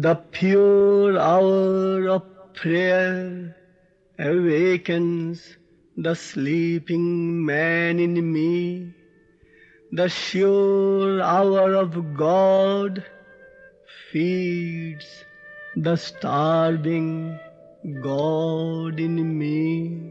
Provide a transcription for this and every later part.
The pure hour of prayer awakens the sleeping man in me. The sure hour of God feeds the starving God in me.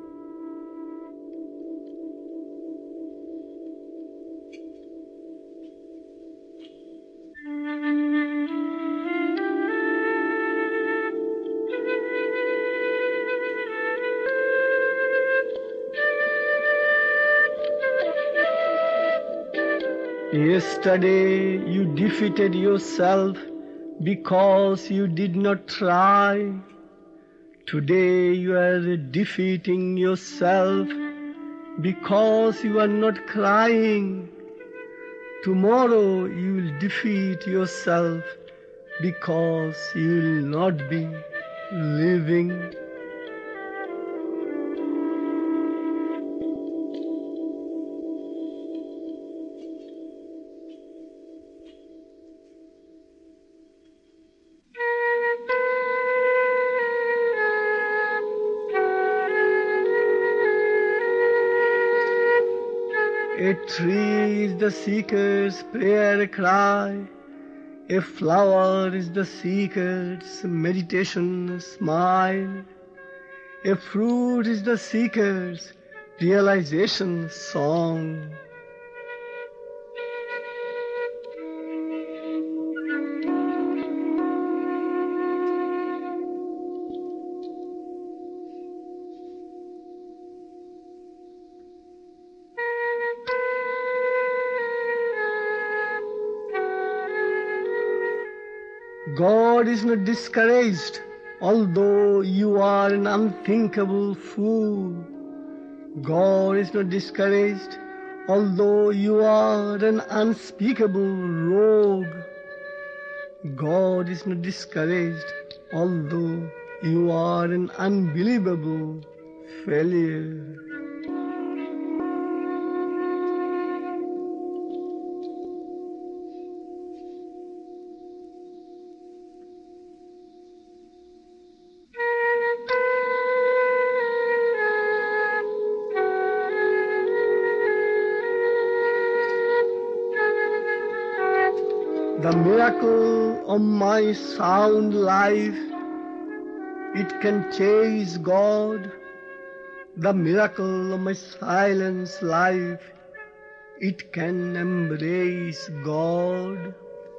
Yesterday you defeated yourself because you did not try. Today you are defeating yourself because you are not crying. Tomorrow you will defeat yourself because you will not be living. A tree is the seeker's prayer cry. A flower is the seeker's meditation smile. A fruit is the seeker's realization song. God is not discouraged, although you are an unthinkable fool. God is not discouraged, although you are an unspeakable rogue. God is not discouraged, although you are an unbelievable failure. The miracle of my sound life, it can chase God. The miracle of my silence life, it can embrace God.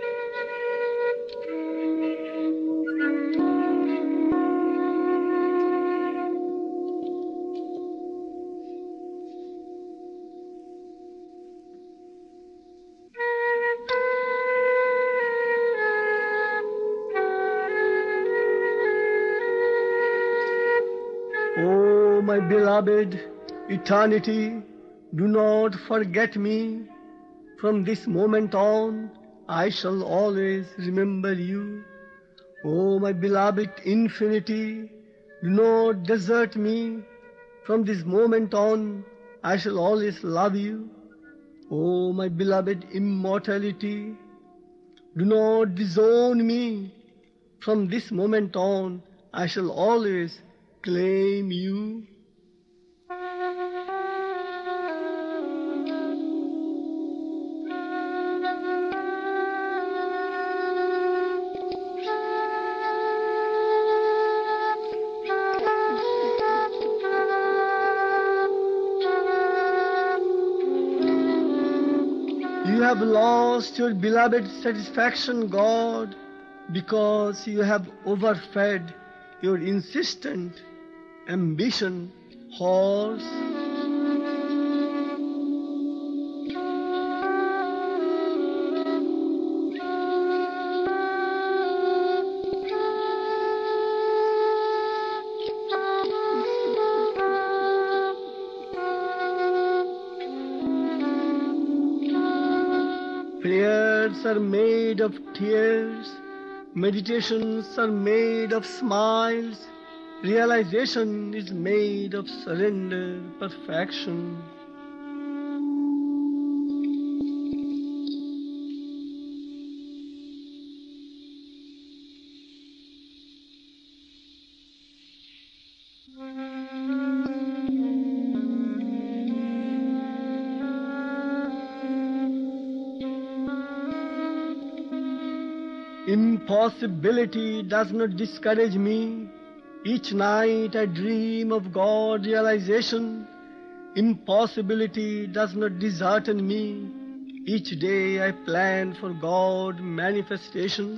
Oh, my beloved, eternity, do not forget me. From this moment on, I shall always remember you. Oh, my beloved infinity, do not desert me. From this moment on, I shall always love you. Oh, my beloved immortality, do not disown me. From this moment on, I shall always claim you. You have lost your beloved satisfaction, God, because you have overfed your insistent ambition horse. Prayers are made of tears, meditations are made of smiles, realization is made of surrender, perfection. Impossibility does not discourage me. Each night I dream of God realization. Impossibility does not dishearten me. Each day I plan for God manifestation.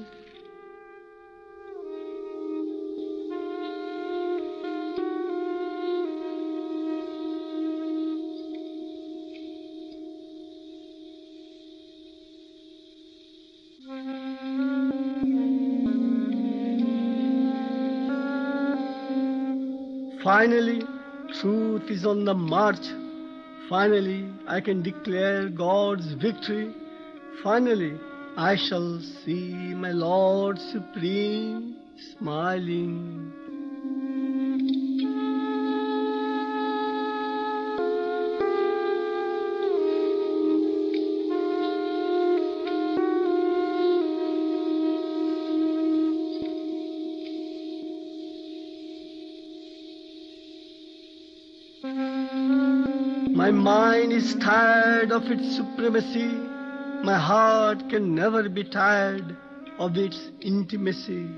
Finally, truth is on the march. Finally, I can declare God's victory. Finally, I shall see my Lord Supreme smiling. My mind is tired of its supremacy. My heart can never be tired of its intimacy.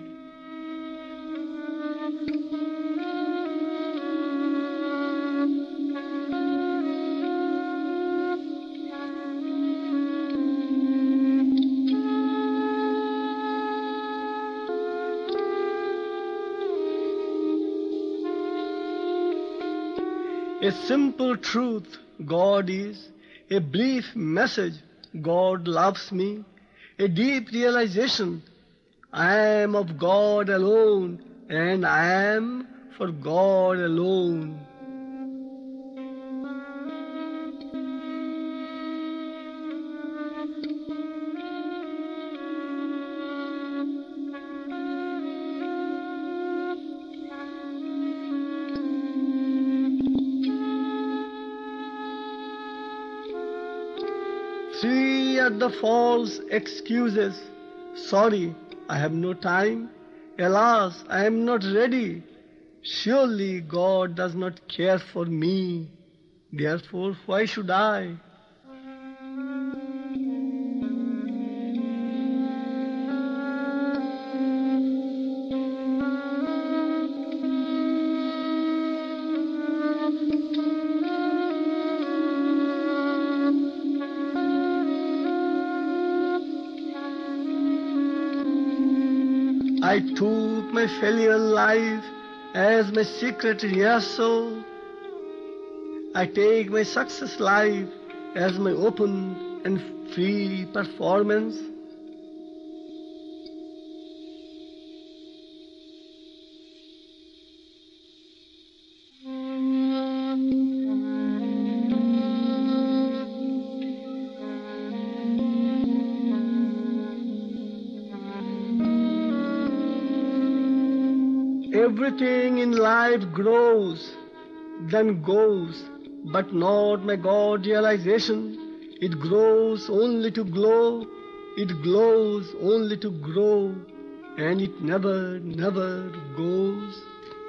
A simple truth, God is. A brief message, God loves me. A deep realization, I am of God alone, and I am for God alone. Three are the false excuses. Sorry, I have no time. Alas, I am not ready. Surely God does not care for me. Therefore, why should I? I took my failure life as my secret rehearsal. I take my success life as my open and free performance. Everything in life grows, then goes, but not my God realization. It grows only to glow, it glows only to grow, and it never, never goes.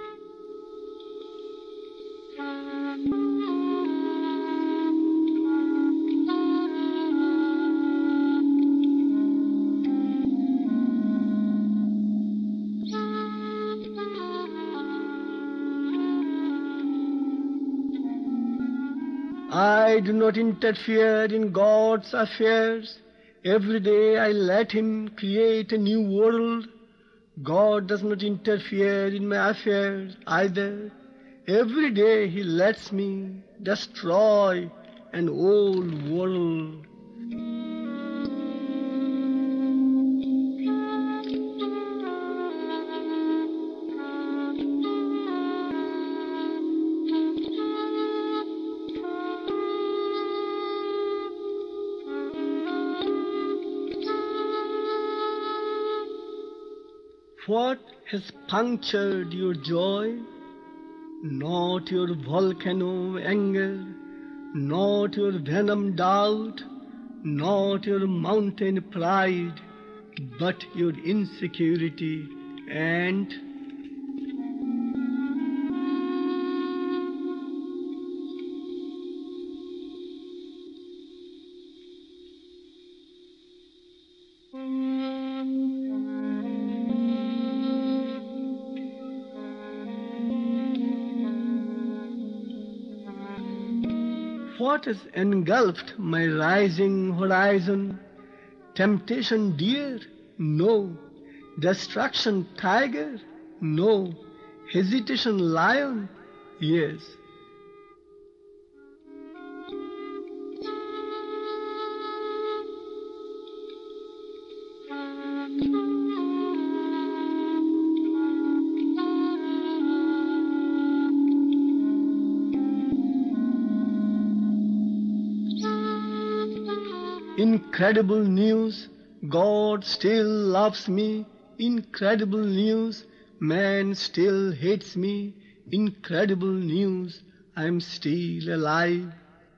I do not interfere in God's affairs. Every day I let Him create a new world. God does not interfere in my affairs either. Every day He lets me destroy an old world. What has punctured your joy? Not your volcano anger, not your venom doubt, not your mountain pride, but your insecurity and What has engulfed my rising horizon? Temptation deer? No. Destruction tiger? No. Hesitation lion? Yes. Incredible news, God still loves me. Incredible news, man still hates me. Incredible news, I'm still alive.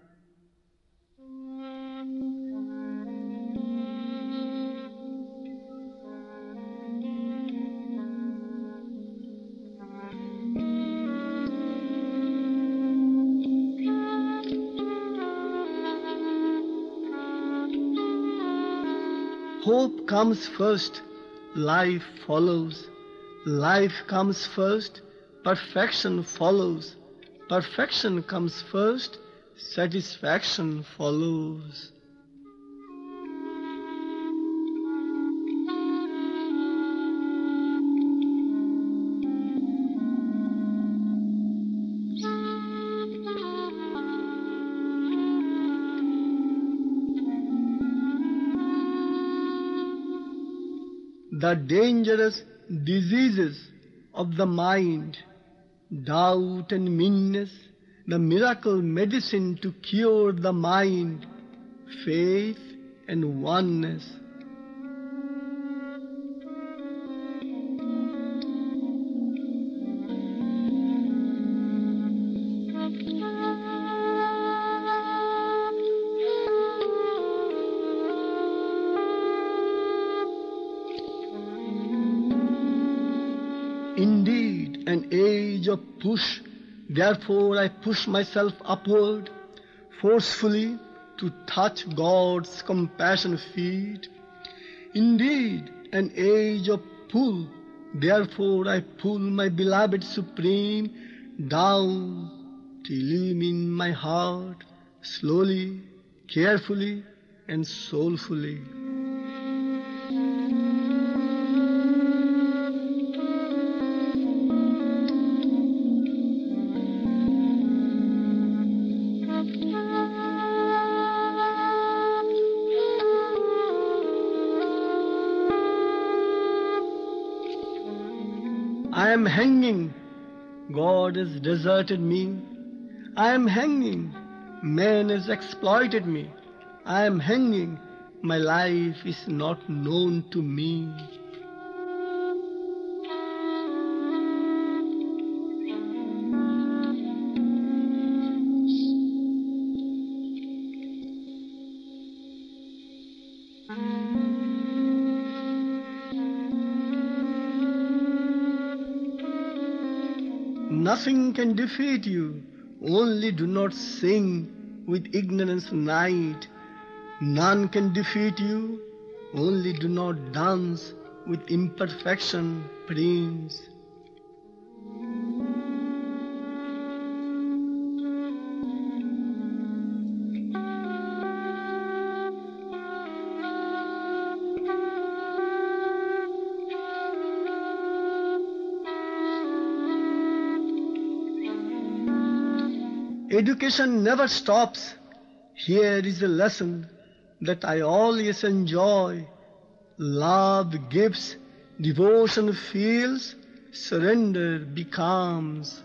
Hope comes first, life follows. Life comes first, perfection follows. Perfection comes first, satisfaction follows. The dangerous diseases of the mind, doubt and meanness, the miracle medicine to cure the mind, faith and oneness. Indeed, an age of push, therefore I push myself upward, forcefully to touch God's compassion feet. Indeed, an age of pull, therefore I pull my beloved Supreme down till him in my heart, slowly, carefully and soulfully. I am hanging, God has deserted me. I am hanging, man has exploited me. I am hanging, my life is not known to me. Nothing can defeat you, only do not sing with ignorance night. None can defeat you, only do not dance with imperfection, Prince. Education never stops. Here is a lesson that I always enjoy. Love gives, devotion feels, surrender becomes.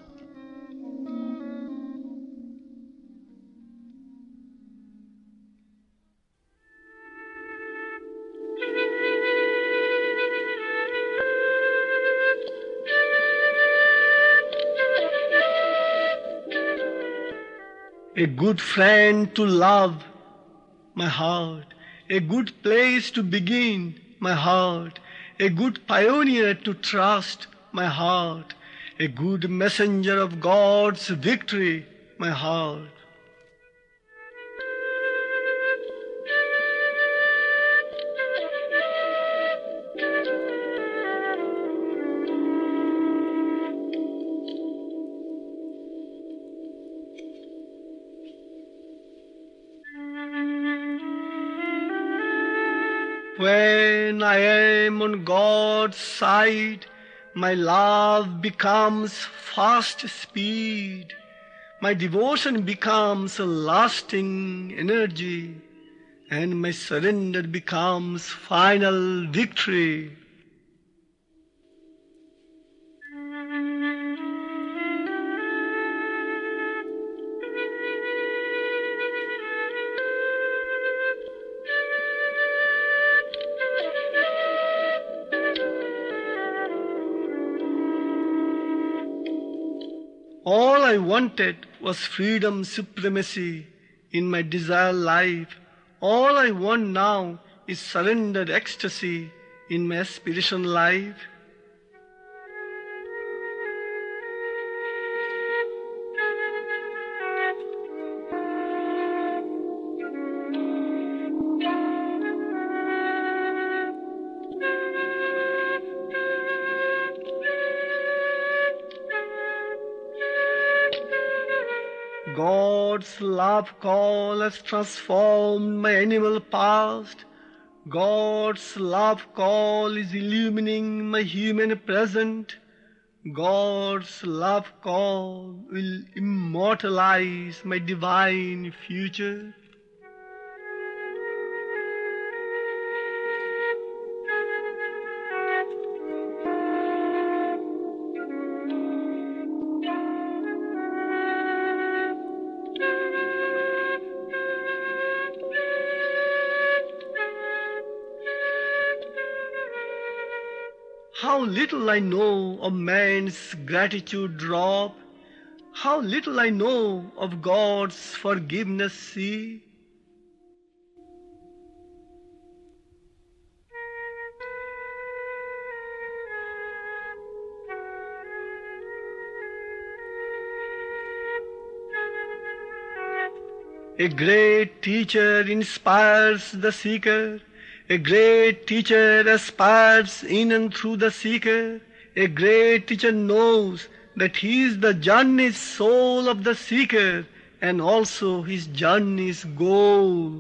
A good friend to love, my heart. A good place to begin, my heart. A good pioneer to trust, my heart. A good messenger of God's victory, my heart. When I am on God's side, my love becomes fast speed. My devotion becomes a lasting energy, and my surrender becomes final victory. All I wanted was freedom supremacy in my desire life. All I want now is surrendered ecstasy in my aspiration life. God's love call has transformed my animal past. God's love call is illumining my human present. God's love call will immortalize my divine future. How little I know of man's gratitude drop, how little I know of God's forgiveness sea. A great teacher inspires the seeker. A great teacher aspires in and through the seeker. A great teacher knows that he is the journey's soul of the seeker and also his journey's goal.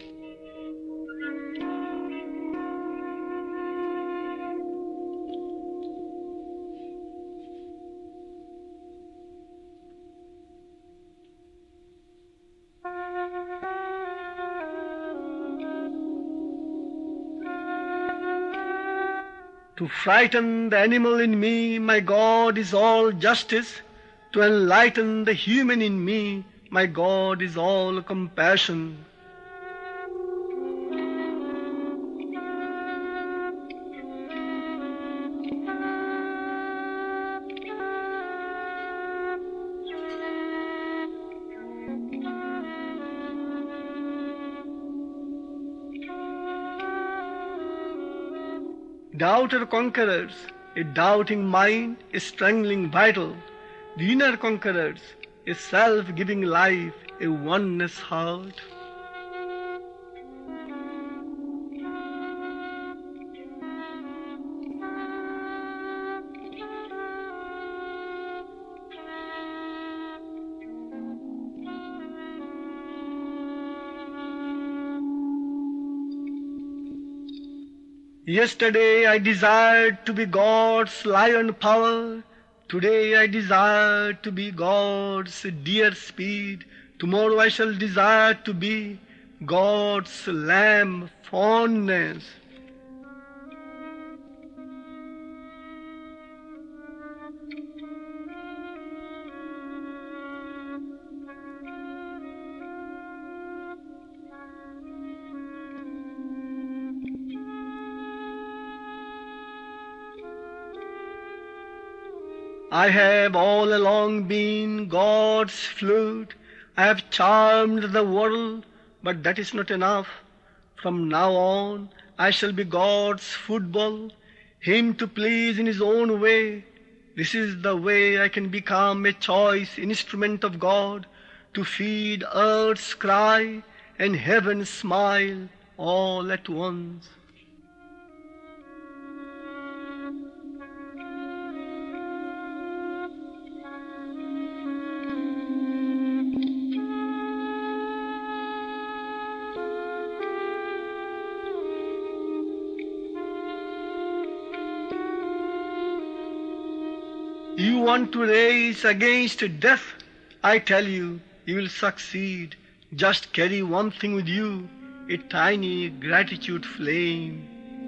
To frighten the animal in me, my God is all justice. To enlighten the human in me, my God is all compassion. Doubter conquerors, a doubting mind, a strangling vital. The inner conquerors, a self-giving life, a oneness heart. Yesterday I desired to be God's lion power. Today I desire to be God's deer speed. Tomorrow I shall desire to be God's lamb fondness. I have all along been God's flute. I have charmed the world, but that is not enough. From now on, I shall be God's football, Him to please in His own way. This is the way I can become a choice instrument of God, to feed earth's cry and heaven's smile all at once. You want to race against death? I tell you, you will succeed. Just carry one thing with you, a tiny gratitude flame.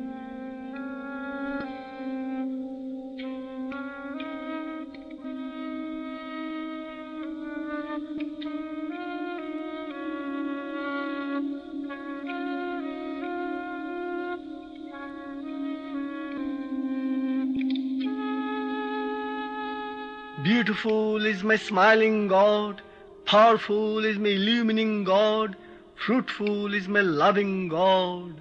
Beautiful is my smiling God, powerful is my illumining God, fruitful is my loving God.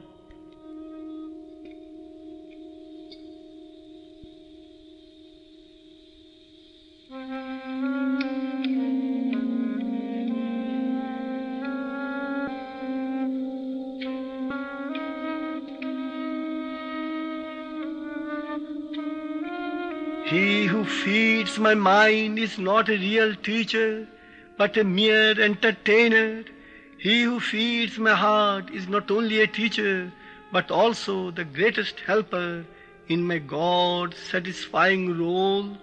He who feeds my mind is not a real teacher, but a mere entertainer. He who feeds my heart is not only a teacher, but also the greatest helper in my God-satisfying role.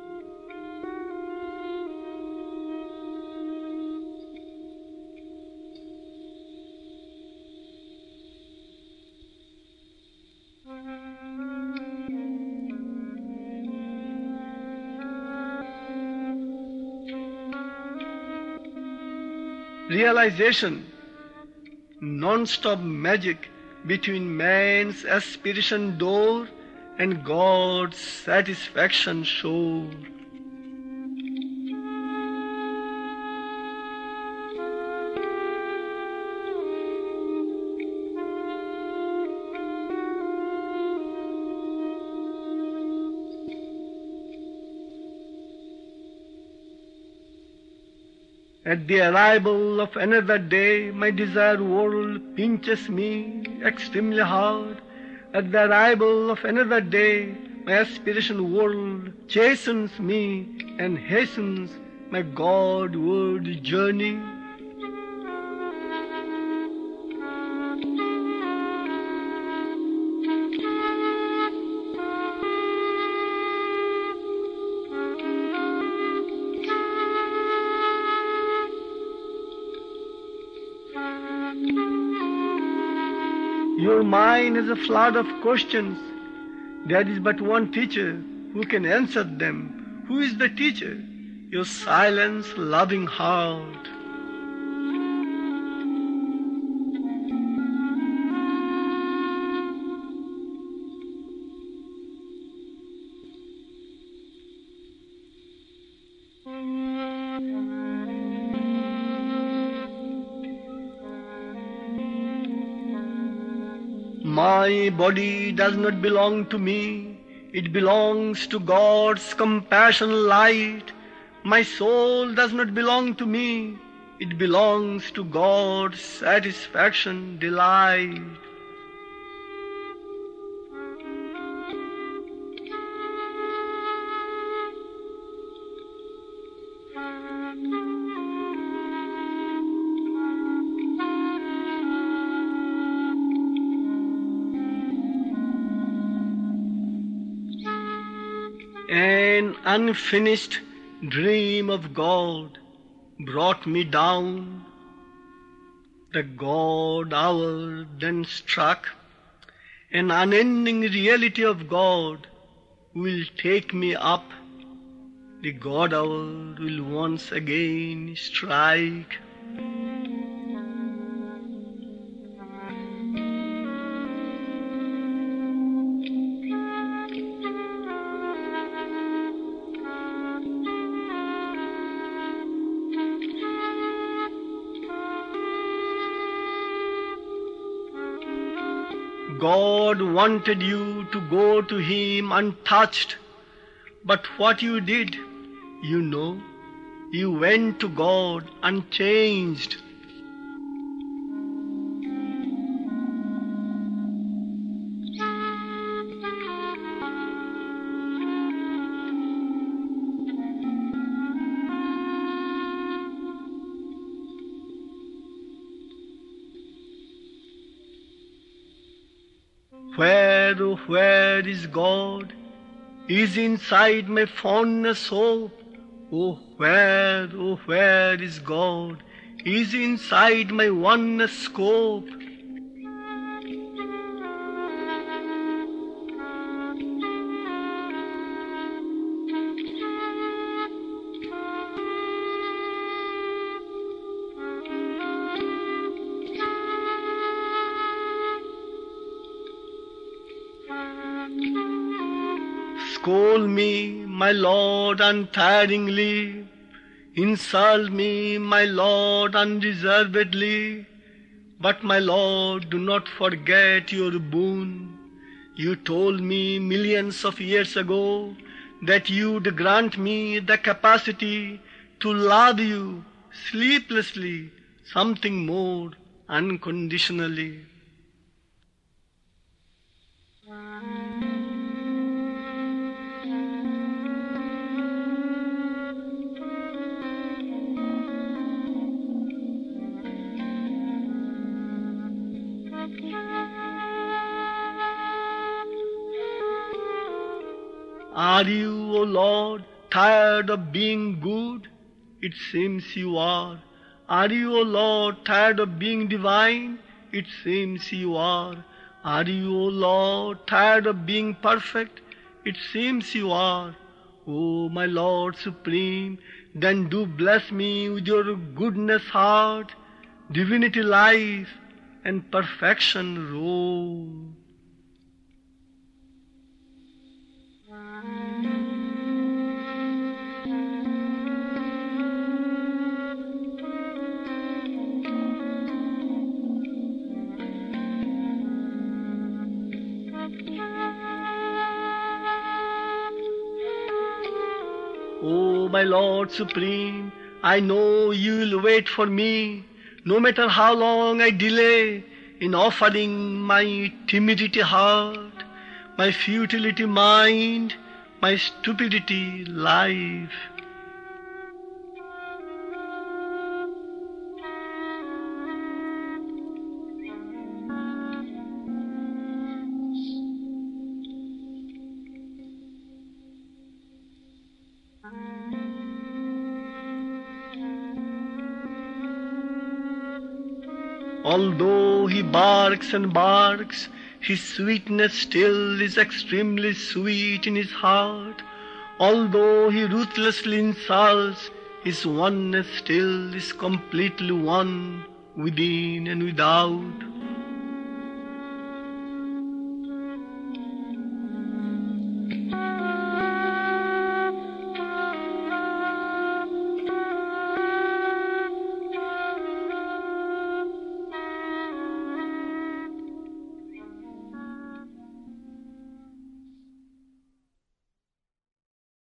Realization, non-stop magic between man's aspiration door and God's satisfaction shore. At the arrival of another day, my desired world pinches me extremely hard. At the arrival of another day, my aspiration world chastens me and hastens my Godward journey. Your mind is a flood of questions. There is but one teacher who can answer them. Who is the teacher? Your silence, loving heart. My body does not belong to me, it belongs to God's compassion light. My soul does not belong to me, it belongs to God's satisfaction delight. An unfinished dream of God brought me down. The God hour then struck. An unending reality of God will take me up. The God hour will once again strike. God wanted you to go to Him untouched, but what you did, you know, you went to God unchanged. Where, oh, where is God is inside my fondness hope. Oh where is God? Is inside my oneness scope. Scold me, my Lord, untiringly. Insult me, my Lord, unreservedly. But, my Lord, do not forget your boon. You told me millions of years ago that you'd grant me the capacity to love you sleeplessly, something more unconditionally. Are you, O Lord, tired of being good? It seems you are. Are you, O Lord, tired of being divine? It seems you are. Are you, O Lord, tired of being perfect? It seems you are. O my Lord Supreme, then do bless me with your goodness heart, divinity life, and perfection rule. O my Lord Supreme, I know you will wait for me, no matter how long I delay in offering my timidity heart, my futility mind, my stupidity life. Although he barks and barks, his sweetness still is extremely sweet in his heart. Although he ruthlessly insults, his oneness still is completely one within and without.